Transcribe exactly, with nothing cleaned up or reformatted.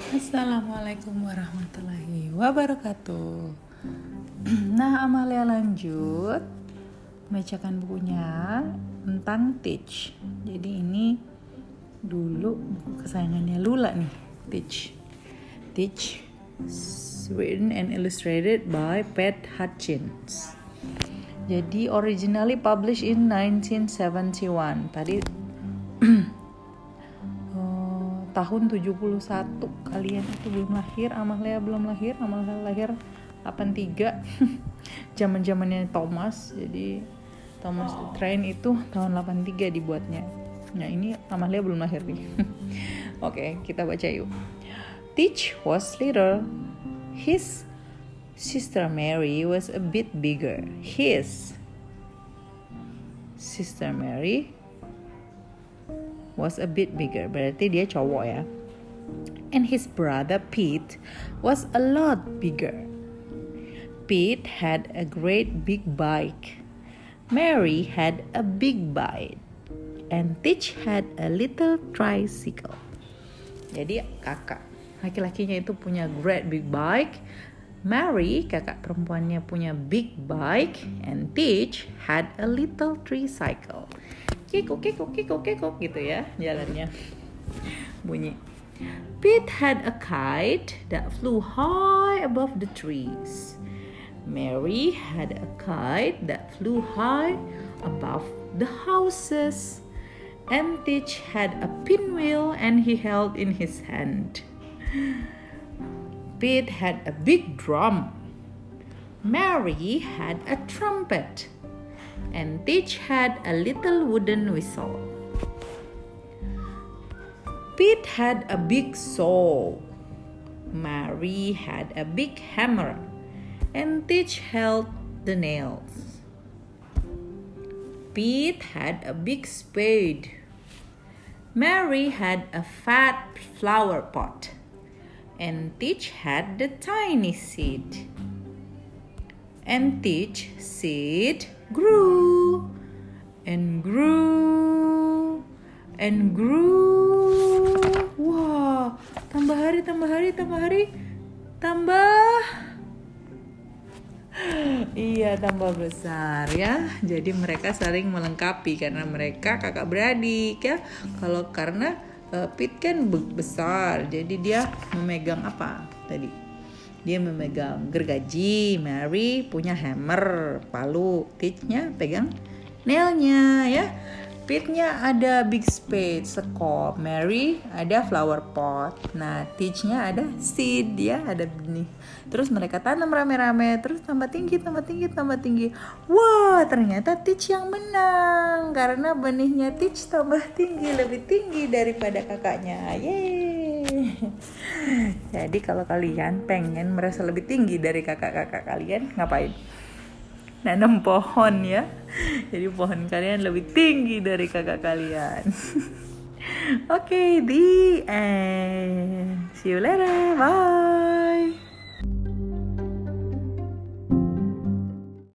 Assalamualaikum warahmatullahi wabarakatuh. Nah, Amalia lanjut membacakan bukunya tentang Teach. Jadi ini dulu buku kesayangannya Lula nih, Teach. Teach, written and illustrated by Pat Hutchins. Jadi originally published in nineteen seventy-one. Tadi tahun tujuh puluh satu, kalian itu belum lahir, Amalia belum lahir, Amalia lahir delapan puluh tiga. Zaman-zamannya Thomas. Jadi Thomas the Train itu tahun delapan puluh tiga dibuatnya. Nah, ini Amalia belum lahir nih. Oke, kita baca yuk. Teach was little. His sister Mary was a bit bigger. His sister Mary was a bit bigger, berarti dia cowok ya. And his brother Pete was a lot bigger. Pete had a great big bike. Mary had a big bike. And Teach had a little tricycle. Jadi kakak laki-lakinya itu punya great big bike. Mary, kakak perempuannya, punya big bike. And Teach had a little tricycle. Kikuk, kikuk, kikuk, kikuk gitu ya jalannya bunyi. Pete had a kite that flew high above the trees. Mary had a kite that flew high above the houses. And Teach had a pinwheel and he held in his hand. Pete had a big drum. Mary had a trumpet. And Teach had a little wooden whistle. Pete had a big saw. Mary had a big hammer. And Teach held the nails. Pete had a big spade. Mary had a fat flower pot. And Teach had the tiny seed. And Teach seed grew and grew and grew. Wah, tambah hari, tambah hari, tambah hari, tambah. Iya, tambah besar ya. Jadi mereka saling melengkapi karena mereka kakak beradik ya. Kalau karena uh, Pete kan besar, jadi dia memegang apa tadi? Dia memegang gergaji. Mary punya hammer, palu. Teach-nya pegang nailnya ya. Pete-nya ada big spade, sekop. Mary ada flower pot. Nah, Teach-nya ada seed ya, ada benih. Terus mereka tanam rame-rame, terus tambah tinggi, tambah tinggi, tambah tinggi. Wah, ternyata Teach yang menang karena benihnya Teach tambah tinggi, lebih tinggi daripada kakaknya. Yeay. Jadi kalau kalian pengen merasa lebih tinggi dari kakak-kakak kalian, ngapain? Nanam pohon ya. Jadi pohon kalian lebih tinggi dari kakak kalian. Oke, okay, the end. See you later. Bye.